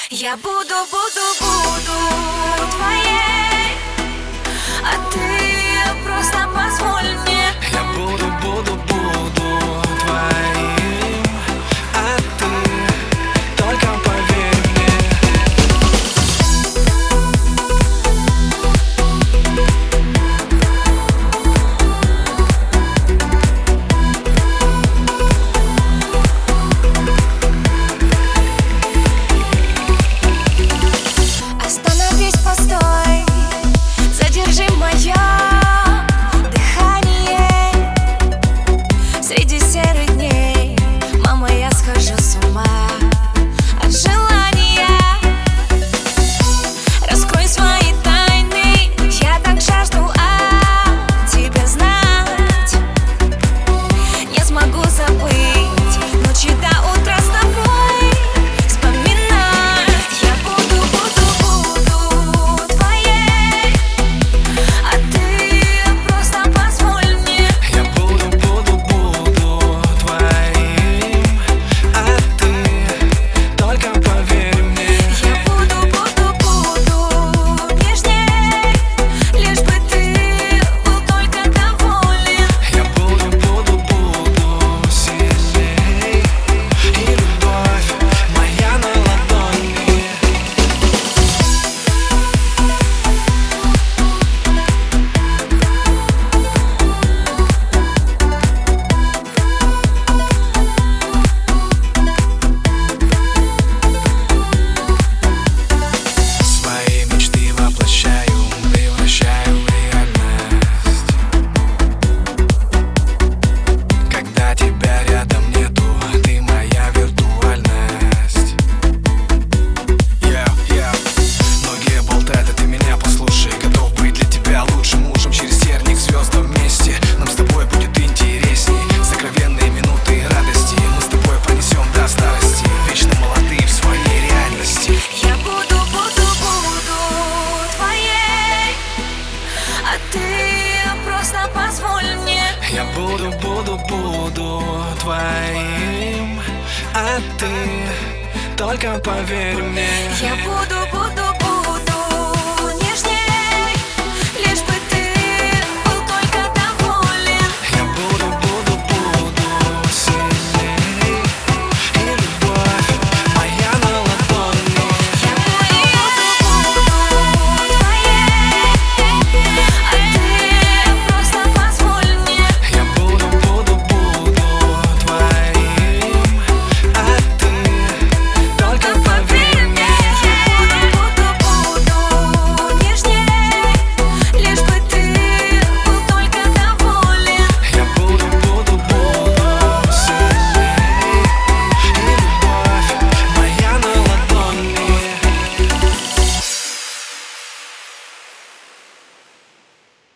Я буду твоей, а ты просто позволь мне. Я буду твоим, а ты только поверь мне. Остановись, постой, задержи мое дыхание. Среди серых дней, мама, я схожу с ума от желания. Раскрой свои тайны, я так жажду о тебе знать. Не смогу забыть ночи до утра с тобой вспоминать. Я буду твоей, а ты просто позволь мне. Я буду твоим, а ты только поверь мне. Я буду нежней, лишь бы ты был только доволен. Я буду сильней, и любовь моя на ладони. Свои мечты воплощаю, превращаю в реальность. Когда тебя рядом нету, ты моя виртуальность. Многие болтают, а ты меня послушай. Готов быть для тебя лучшим мужем. Через терник к звездам вместе. Нам с тобой будет интересней. Сокровенные минуты радости мы с тобой пронесем до старости. Вечно молодые в своей реальности. Я буду твоей, а ты просто позволь мне. Я буду твоим, а ты только поверь мне. Я буду